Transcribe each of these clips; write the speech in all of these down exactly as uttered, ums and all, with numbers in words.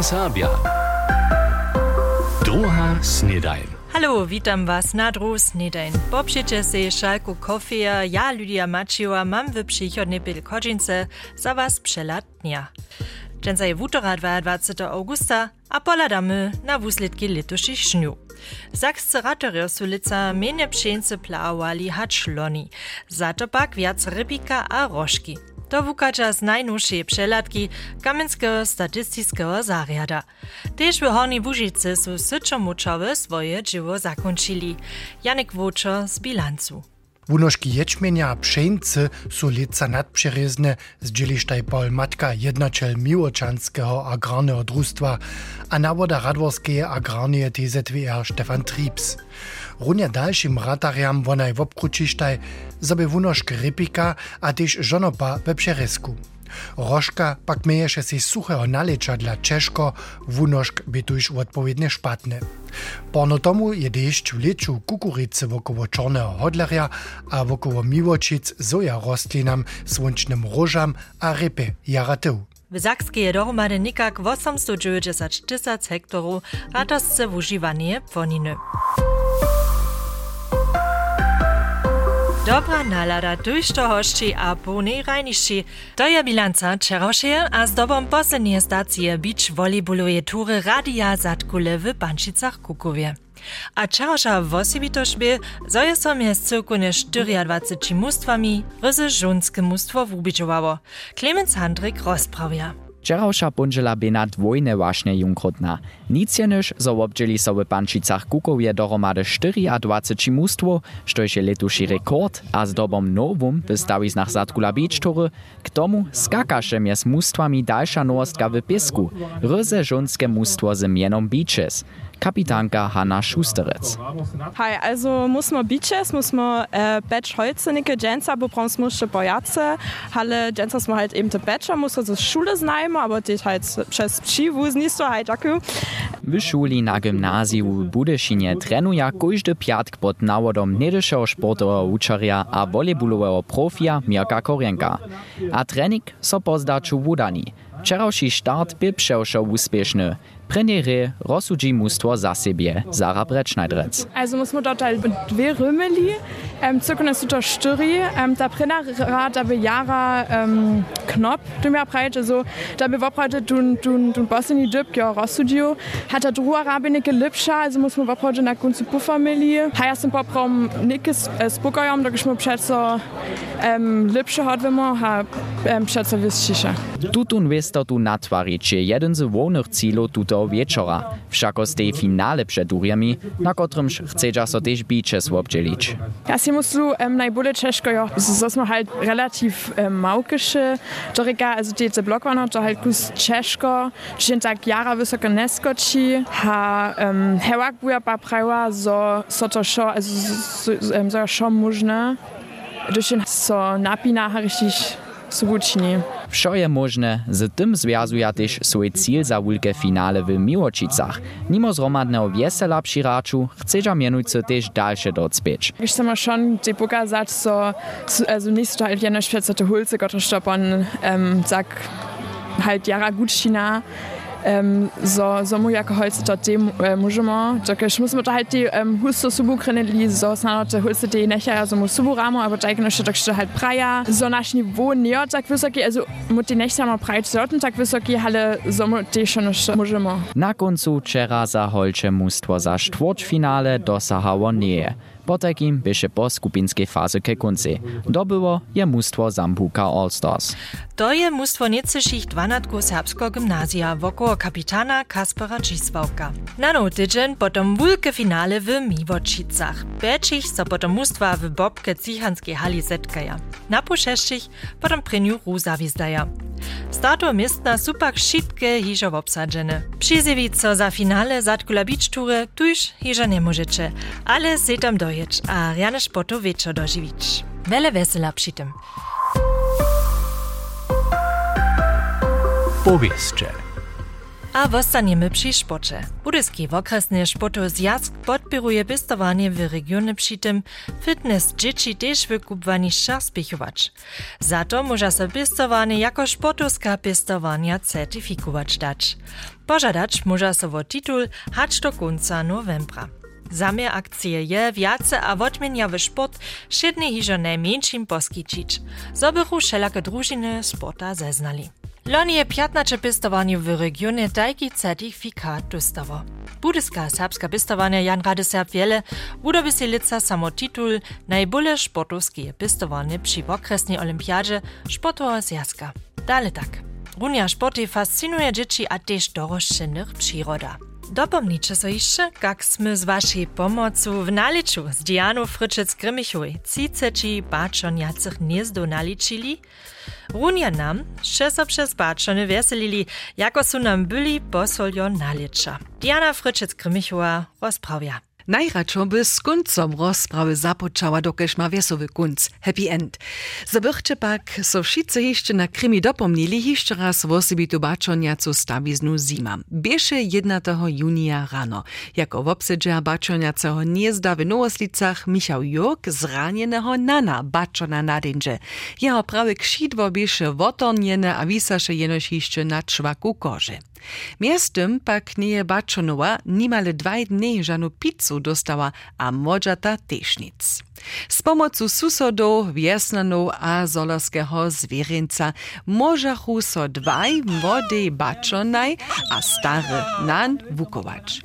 Serbia. Druga snedajn. Hallo, witam was na druhu snedajn. Popšite se šalku kofeja, ja Lydia Maciła mam w przychodnej Bielkodzинce za was przelat dnia. Dżęca je wutora dwudziestego augusta, a poladamy na wuslitki letoších šňu. Sakscy ratorio su lica mienie pšence plawali hacz loni, za to pak viac rybika a rožki. To wukača z najnowszej przelatki Kamenskiego Statystycznego Zariada. Tež w Hornej Łužicy su syčomučowe swoje dzieło zakończyli. Janek Wóczo z bilancu. Wunożki ječmenja a pšeńcy su lica nadpřerezne z dzielištaj Paul Matka, jednačel Miłočanskiego agrarnego družstva a nawoda Radworskeje agrarneje T Z W R Stefan Triebs. Runja dalšim ratariam wonaj wobkručištaj, zoby wunożk rypika a tež žonopa we přerezku. Rožka pak meješe si suchého naleča dla Češko, wunożk by tuž odpowiednie špatne. Porno tomu je dešć v leču kukurice wokoło čorného hodlerja a wokoło Miłočic soja rostlinam, słončnym rožam a rypy jaratył. W Sakskiej je dohromady nikak osiemsto dziewięćdziesiąt tysięcy hektarów ratosce wužiwanie płoniny. Dobra nalada tuž to hošči a půnej rajnišči. To je bilanca čerošeje a z dobom poslednie stacije beach volejbaluje tury Radia Zatkule w Pančicach Kukowie. A čeroša vosebitož by, zo je so mjez cyrkune dwadzieścia cztery mustwami ryzy žunske mustwo wubidžowało. Clemens Handrik rozprawia. Wczorajsza punžela by na dwojne właśnie junkrotna. Nic jenyż, zo obdźeli so w Pančicach Kukowie dohromady dwadzieścia cztery mustwo, štož je letuši rekord, a z dobom nowum wystawi znach Zatkula beach tury, k tomu skakaše mjez mustwami dalsza nowostka w Pisku, ryzy žunske mustwo z mienom Beaches. Kapitanka Hanna Schusterec. Hi, also muss man Beaches, muss man äh, Batch Holzenike, Jensa, bo brauchst musste Bojace, Halle, Jensas man halt eben te Batcher, muss also Schule znajmo, aber die halt przez Pschiwus nicht so halt akku. W szuli na gimnazju w Budyszynie trenuje każdy piatk pod nawodom niedyszego sportowego uczarja a volejbalowego profia Mirka Korjenka. A trening so pozdaču wudani. Wczorajszy start był przewszo uspieszny. Premiere rozsudzi mustwo za siebie, Sarah Brettschneidrec. Also muss man dort halt dwie Römeli, ähm, circa ist dort Stüri, ähm, da Brennerrad, da be Jara ähm, Knopf, du mir breite so, da be wobreite du du du Bossini Dip, ja Rossudio, hat da Drua Rabinike Lipscha, also muss man wobreite na Gunzu Puffermeli, heißt im Popraum Nickes Spukayam, da geschmur Pschetzer ähm, Lipscha hat, wenn man ha ähm, Pschetzer Wisschische. Tutun wisto tu natwarić jeden z wolnych cílów tuto wieczora, wszako z tej finale przed Uriami, na kotrymż chcedza so też Beaches obdzielić. Ja si muslu ähm, najbolje Češko, ja, so smo halt relativ ähm, maukische, Dorika, also die Blok waren da halt kus Češko, die tak jara wysoko neskoči, ha ähm, hewak buja pa prawa, so so to scho, also so, ähm, so scho możne, durch den so napina richtig so gučni. Wszo je możne, z tym związuje też swój cíl za wielkie finale w Miłočicach. Mimo zromadnego wiesela prziraczu, chcedza mianujcy też dalsze docpieć. Ich chcę mal schon die pokazać, so, also nicht so halt jene Schwätze Hulze, Gottesstoppern, ähm, sag halt jara gutschina. Um, so, so mu jako holce to dem uh, můžeme, takže musíme to halt die um, husto subu kreneli, so snad to hulce die necha, also mu subu ramo, aber tak no tak što halt praja, so naš niveau nie tak vysoki, also mu die necha mal prajt sorten tak vysoki, ale so mu die schon můžeme. Na koncu včera za holče mustwo za štvrťfinále dosahało nie. Po takim byše po skupinskiej faze ke konci. Dobyło je mustwo Zambuka All-Stars. To je mustwo niecyších dvanatku serbskiego gymnazja wokoło kapitana Kaspera Dzisławka. Na no tydzień potom wulke finale w Miłočicach. Bečich so potom mustwa w Bobke Cichanskiej hali zetkaja. Na pušešćich potom prenju Ruza wizdaja. Starto miestna supak šitke hižo obsadzene. Přizevico za finale Zatkula beach tury tuž hižo nie możecie, ale se tam dojeć a rjane športu wieczor doživić. Vele vesela przy tym. Powieszcze. A wostanjemy przy sporcie. Budyski okresny sportowy zjazd podpieruje pistowanie w regionie przy tym fitness dzieci też wykupwani spěchować. Za to może się pistowanie jako sportowska pistowania certyfikować dać. Pożadać może się o tytuł hać do końca novembra. Zamiar akcije je wiace a odmieniawy sport wszednie hižo najmniejszym poskičić, zobychu wszelakie drużyny sporta zeznali. Loni je piętnaście pistowanie w regionie taki certyfikat dostało. Budyska serbska pistowania Jan Radeserb wiele udoby si lica samo tytuł najbole sportowskie pistowanie przy okresnej olimpiadzie sportowa zjazka. Dale tak. Runia sporty fascinuje dzieci a też doroślych przyroda. Dopomnijcie so jeszcze, jak sme z waszej pomocu w naliczu z Dianą Fryczec-Grymichowej trzydzieści baczoniacych gniezdo naliczyli. Runia nam, że so przez baczony weselili, jako su nam byli posoljo nalicza. Diana Fryczec-Grymichowa rozprawia. Najradšo by z koncom rozprawy započała, dokež ma wesowy kunc, happy end. Zabychče pak so wszyscy jeszcze na Krymi dopomnili jeszcze raz wosibitu baczoniacu stawiznu zima. Bieše jedenastego junia rano. Jako wobsedzia baczoniaceho gniezda w Nowoslicach Michał Jurk zranienego nana baczona nadędzie. Jeho prawe krzidło bieše wotorniene a wisaše jenož jeszcze na czwaku korzy. Miestem pak nie baczonowa nimale dwaj dni żanu pizzu dostała, a modżata też nic. Z pomocą susodów, wiesnanów a zolarskiego zwierzęca możachu so dwaj młodej baczonaj a stary nan wukować.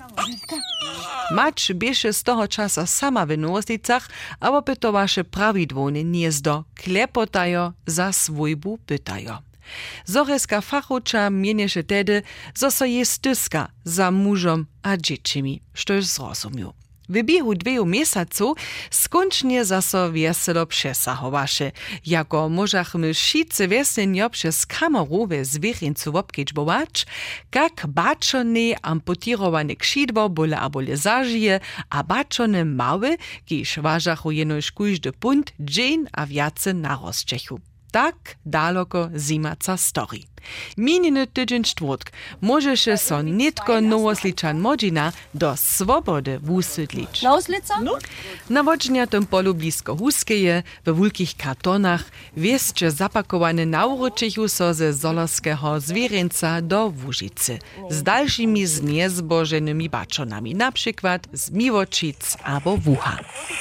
Mać bieše z toho czasa sama w Nowoslicach, a opytowaše prawidłowne gniezdo, klepotajo za swójbu pytajo. Zoreska fachuča mienieše tedy, zo so je styska za mužom a dziecimi, štož zrozumiu. W biehu dweju miesaców skończnie zaso wieselo przesahowaše. Jako możachmy wszyscy wieslenio przez kamerowe zwierzęcu obkiczbować, jak baczone amputowane krzydło bole a bole zażyje, a baczone małe, kiż ważachu jenoż kujdy punt, dzień a wiace na rozczechu. Tak daleko zimaca story. Mininy tydzień czwartk może się so nitko Nowosliczan Modzina do swobody wusydlić. No? Na wodźniatym polu blisko Huskeje, we wulkich kartonach, wieszcze zapakowane na uroczychu so ze zolarskiego zwierzęca do Łużycy. Z dalszymi zniezbożonymi baczonami, na przykład z Miłoczyc albo Wucha.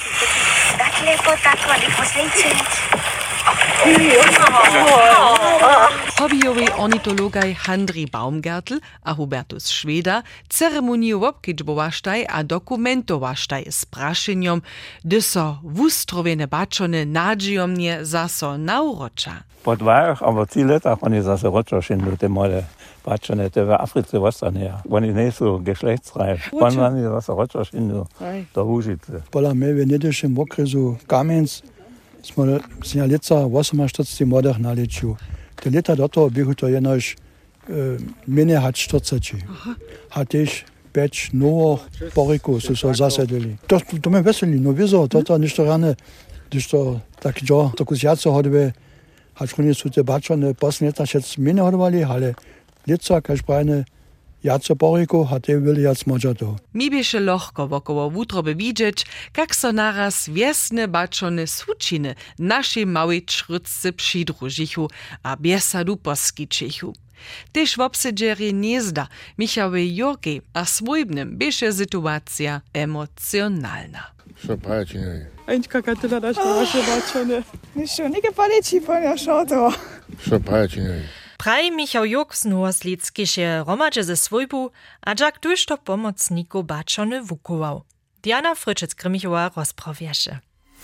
Hobbyjowy ornitologaj Handri Baumgartl a Hubertus Schweda ceremoniju obkiczbowaštaj a dokumentowaštaj z prašenjom, gdy so wustrowene baczone nadzijomnie zaso naurocza. Po dwóch, aber trzy lata oni zase roczo szyndlu te mole baczone, te w Afryce wostanie. Oni nie są geschlechtsreif. Wann oni zase roczo szyndlu do Łużycy. Pola my w niedłuższym okresu Kamienc smo si na lica osemnajst młodych naliczył. Te lata do toho bychu to jenož e, mene hat czterdzieści. Hat też pięć nowych porików, co so zasadili. To, to mnie weseli, no wieso, to to niż to rane, gdyż to tak jo, to kusiaco hodby, hat schon su te baczone posne lata się mene hodowali, ale lica, kaž brajne, jaco poriku, hat te wili jac modžato. Mi bieše lohko wokoło wutroby widzieć, jak so naraz wiesne baczone sučiny naszej małej czrycce przydružichu a biesadu poskičichu. Też w obsedzeri gniezda Michałej Jurki a swójbnym bieše sytuacja emocjonalna. Co pracie? Ańka katyla nasz nasze baczone. Niщо, neke paliči po šoto. Co pracie? Praj Michał Jurk z Nowoslickiše romadže ze swójbu, a jak tuż to pomocniku baczony wukował. Diana Fryczec-Grymichowa rozprawieše.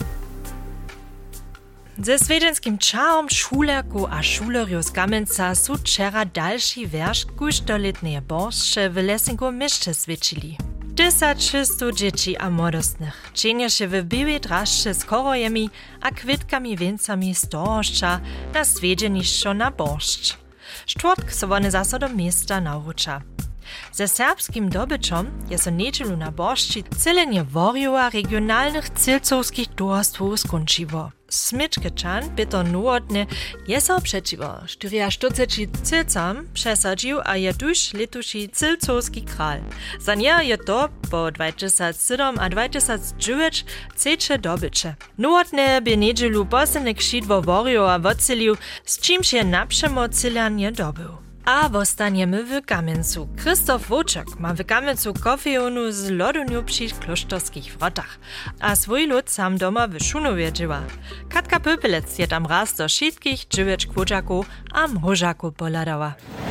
Ze svedenskim čarom šulerku a šulerju z Kamenca su včera další verš kuždoletneje boršče w Lesinku myšče svědčili. Tysačistu dzieci a młodostnych czynieše w białej draszcze z korojemi a kwitkami więcami z dorożcza na swiedzienišćo na boršč. Štvrtk so one zase do miesta nauča. Ze serbskim dobyczom je so niedzielu na borszči celenie worjowa regionalnych cilcowskich towarstwów skończyło. Smyczkeczan Peter Nowotny je so przeciwo czterdzieści cilcam przesadził, a je tuż letuši cilcowski kral. Za nie je to po dwa tysiące siedem a dwa tysiące dziewięć ceče dobycze. Nowotny by niedzielu posledny kšit wo worjowa wocelił, z czymś je naprzemo cylanie dobył. A wostaniemy w Kamencu. Krzysztof Woczek ma w Kamencu kofejonu z loduniu przy klosztorskich wrotach, a swój lud sam doma w Szunowie dzieła. Katka Pöpelec je tam raz do wszystkich dziewięć kłóczaków a mrożaków poladała.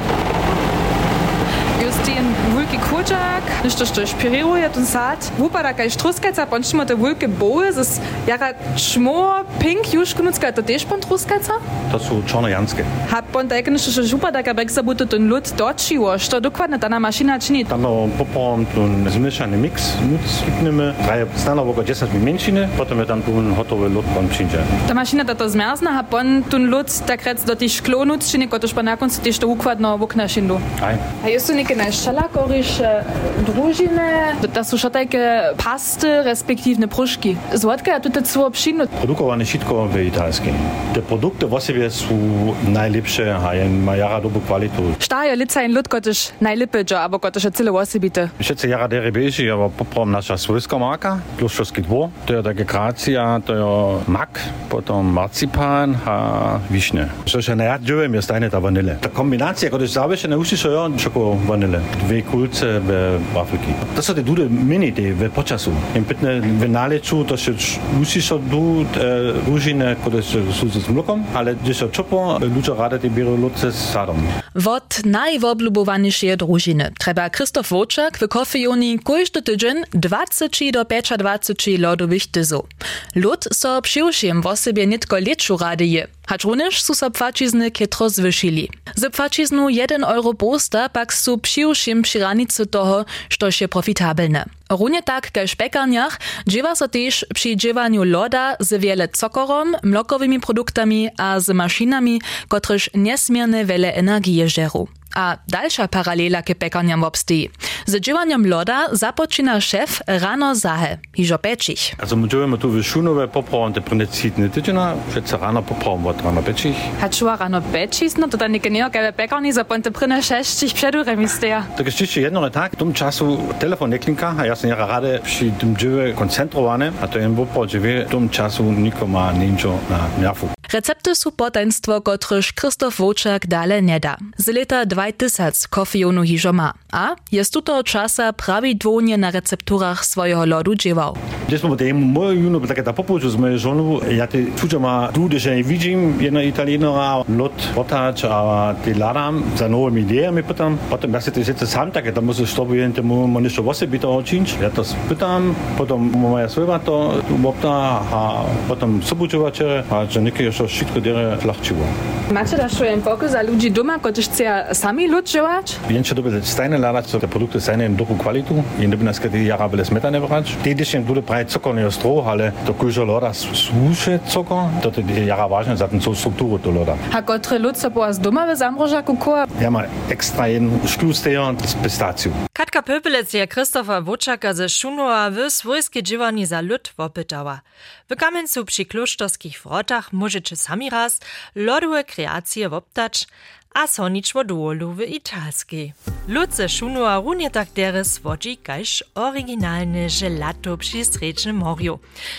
Just ten wulki kurczak, nešto što špiruje ten sad. Wupada kaj štruskajca, pončimo te wulke boje, zes jara čmo pink juškunucka, to tež pon truskajca? To sú čornojanské. Ha pon tak nešto što wupada kaj beksa budu ten lud dočiło, što dokładne ta mašina čini? Tam poprom ten zmiešaný mix, nuc skipneme, traje stano oko desať menšiny, potom je tam ten hotový lud pon přinže. Ta mašina ta to zmerzna, ha pon ten lud tak rec do tých šklonuc čini, kotož pa na koncu tež to układno vokna šindu. Aj. A jest tu neke najšalakoriše družine, da su še také pasty, respektívne prušky. Zvodka je tu celo obšinu. Produkované všetko v italském. Te produkty v sebe sú najlepšie a majú jara dobrú kvalitu. Šta je lica in ľud, kotež najlepšie, alebo kotež je celé osobité? Všetci jara dere beži, ale poprom naša svojská marka, Kloštorský dvor. To je také krácia, to je mak, potom marcipán a višne. Čo je najradšie, je stajne ta vanile. Ta kombinácia, kotež závěšené usí so jo, čoko vanile. Dve kulce v Afriky. To sú tie dude minity v počasu. Im pitne v náleču, to sú usí so du rúžine, ktoré sú s mlokom, ale kde sa čopo, ľudia rada tie bierú lodce s sadom. Wot najwoblubowanišie družiny treba Krzysztof Woczek w kofejoni kojszty tydzień dwadzieścia do dwadzieścia lodowych tyzów. Lud so przyjszym w osobie nitko leczu rady je, hacz również su so płacizny kietro zwyšili. Z płaciznu jeden euro posta pak su przyjszym przy ranicy toho, što je profitabelne. Runie tak ke špekarniach dziewa so też przy dziewaniu loda z wiele cokorom, mlokowymi produktami a z maszynami, kotryż niesmierne wiele energii żeru. A dalsza paralela ke pekarniam obstoi. Z dziewaniem loda zapoczyna szef rano zahe, hižo pečich. Also my dziewiemy tu w Szunowie popravom te prinecitne tydziena, wszyscy rano popravom od rano pečich. Hačuva rano pečich, no to da neke neokawe pekarni za ponte prine šešćih předurem isteja. Tak jest jeszcze jedno tak, w tym czasu telefon nie klinka, a ja sam jara rade przy tym dziewie koncentrowane, a to jen popro dziewie, w tym czasu niko ma ničo na nervu. Recepty su potenstwo, kotryż Krzysztof Woczek dale nie da. Z leta dwa tysiące kofejonu hižo ma. A jest tuto czasa prawidłownie na recepturach swojego lodu dziewał. Gdzieś po tym moje juno takie ta popułczu z mojej żonu, ja te czucia ma dude, że nie widzę jedna Italienera lot otacz, a te ladam za nowymi ideami pytam. Potem jak się to jest sam takie, to muszę stopić temu moniszczo wosy bito oczynić. Ja to spytam, potem moja słowa to obta, a potem sobuczowacze, a że niekie jeszcze wszystko dere flachciło. Macie da schon pokus za ludzi doma, kotež chce sami lud dziewać? Więcej doby stajne ladać, te produkty stajne w dobrą kwalitu. I nie by nas kiedy jara byle smetane brać. Tedy się dude prawie cukor nie ostro, ale to kujo loda słusze cukor, to te jara ważne za tą strukturę to loda. A kotre lud so po z doma w zamrożaku koła? Ja ma ekstra jeden szklustejon z pistacją. Katka Pöpelec je Krzysztofa Woczaka ze Szunowa w swojskie dziewani za lud wopytała. W Kamencu przy klosztorskich wrotach możecie sami raz lodowe kreacje woptać, a so ničo dołolu w italskiej. Lud ze Szunowa runie tak deres wodzi kajż oryginalne gelato przy Srečnym morju.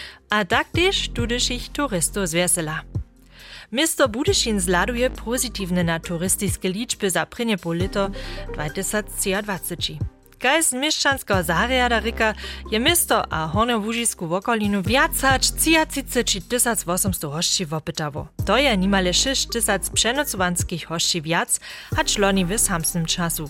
A tak też tudyż ich turystów zwesela. Misto Budyšin zladuje pozytywne na turystyczne liczby za prynie po lito dwa tysiące dwadzieścia. Kaj z mieszczanskiego zariada ryka je misto a Hornją Łužisku w okolinu wiacać trzydzieści tysięcy osiemset hości wopytało. To je nimale sześć tysięcy przenocowanskich hości wiac, hacz loni w samsnym czasu.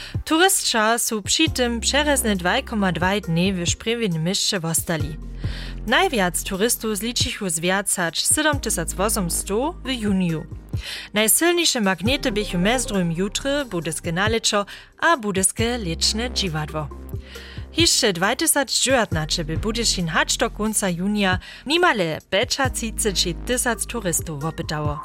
Turystča su przy tym przerezne dwa przecinek dwa dni w szprewnym mieście wostali. Najwiac turystów zliczyło zwiacać siedem tysięcy osiemset w juniu. Najsilniejsze magnety bychu mezdrum jutry, budyske naleczo, a budyske leczne dziwadło. Jeszcze dwa tysiące dziewiętnaście by Budyšin hacz do końca junia nimale trzydzieści tysięcy turystów wopytało.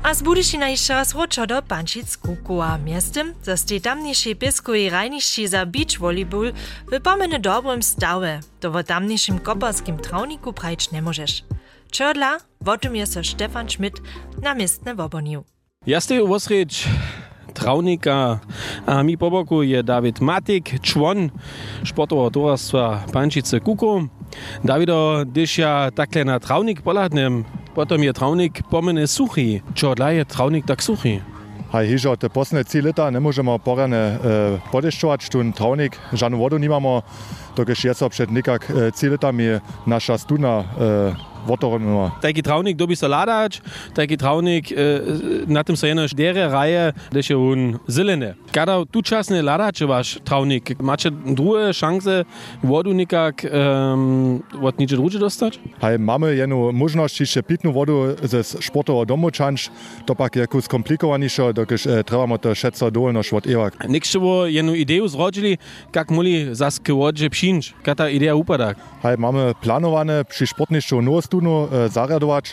A z Budyšina jeszcze raz wrócił do Pančic Kukowa. Miastem zostali tamniejsi pieskowi rajniści za beach volleyball w pomene dobrym stawie. To w tamniejszym koparskim trawniku prajć nie możesz. Czodla, o tym jest Stefan Schmidt namiestne wobonił. Ja stej osreć trawnika, a mi po boku je Dawid Matik, człon sportowego towarstwa Pančice Kukow. Dawido, když ja takhle na trawnik poladnem, potom je trawnik pomene suchy. Czodla je trawnik tak suchy? Hej, hižo, te posledné tři leta nemôžeme porane e, podešťovať, tu trawnik, žádnu vodu nemáme, dokež je so před nikak e, tři letami naša studna e, votornula. Taki trawnik dobi se ladać, taki trawnik e, na tym se jenož dere raje, když je on zelene. Kada tu časne ladače vaš trawnik, macie druge szanse vodu nikak um, od niče druge dostać? Hej, mamy jednu možnosť ešte pitnú vodu ze sportového domu čanč, to pak je kus komplikovanejšie, dokež e, trebamo to všetko dovoľnosť od evak. Niekševo jednu ideu zrodili, kak moli zas k vodže pšinč, kak ta idea upada. Hej, máme planowane przy sportnišću novú studnu e, zariadować.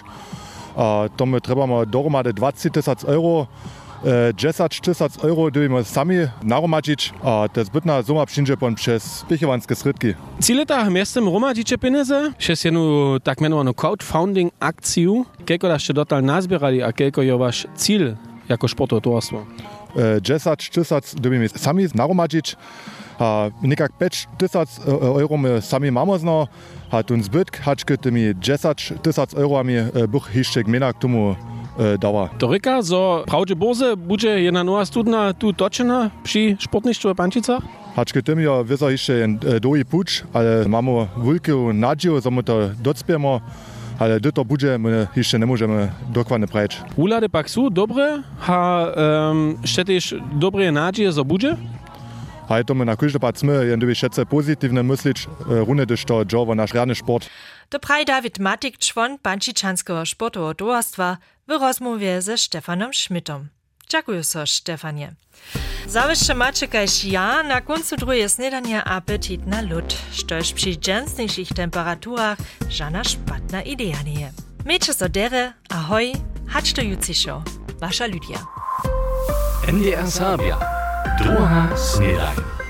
A to my trebamo dohromady dvacet tysiąc euro. dziesięć tysięcy euro dojemy sami naromadzić, a to zbytna suma przyjdzie pon przez pichowanskie sredki. Cileta miestem romadzicie pieniądze? Przez jedną tak mianowaną crowdfunding akcję. Kieko daście dotal nazbierali, a kieko je wasz cel jako sportowe towarstwo? dziesięć tysięcy dojemy sami naromadzić. A nekak pięć tysięcy euro my sami mamy zno, a ten zbytk haczky tymi dziesięć tysięcy eurami bych jeszcze gmina k tomu dała. To ryka, zo prawdzie boze będzie jedna nowa studna tu toczena przy sportnictwie w Pančicach? Haczky tym ja wiedzą jeszcze jeden długi pucz, ale mamy wielką nadzieję, że my to docpiemy, ale do to będzie my jeszcze nie możemy dokładnie powiedzieć. Ulady pak są dobre, a um, jeszcze też dobre nadzieje, że będzie? A to my na każdy pat sme, jen doby všetce pozitívne myslić, runde dyž to džovo naš rjadny sport. To praj Dawid Matik, człon Pančičanského sportového towarstwa, w rozmowie ze Stefanom Schmidtom. Dziękuję so, Stefanie. Zawyższe macie kaž ja na końcu drugie snedania apetit na lód, štož przy dżęsniejszych temperaturach żadna szpatna idea nie. Miejcie so dere, ahoj, hacz to juciszo. Wasza Lydia. N D R Sabia. Druga snedaj.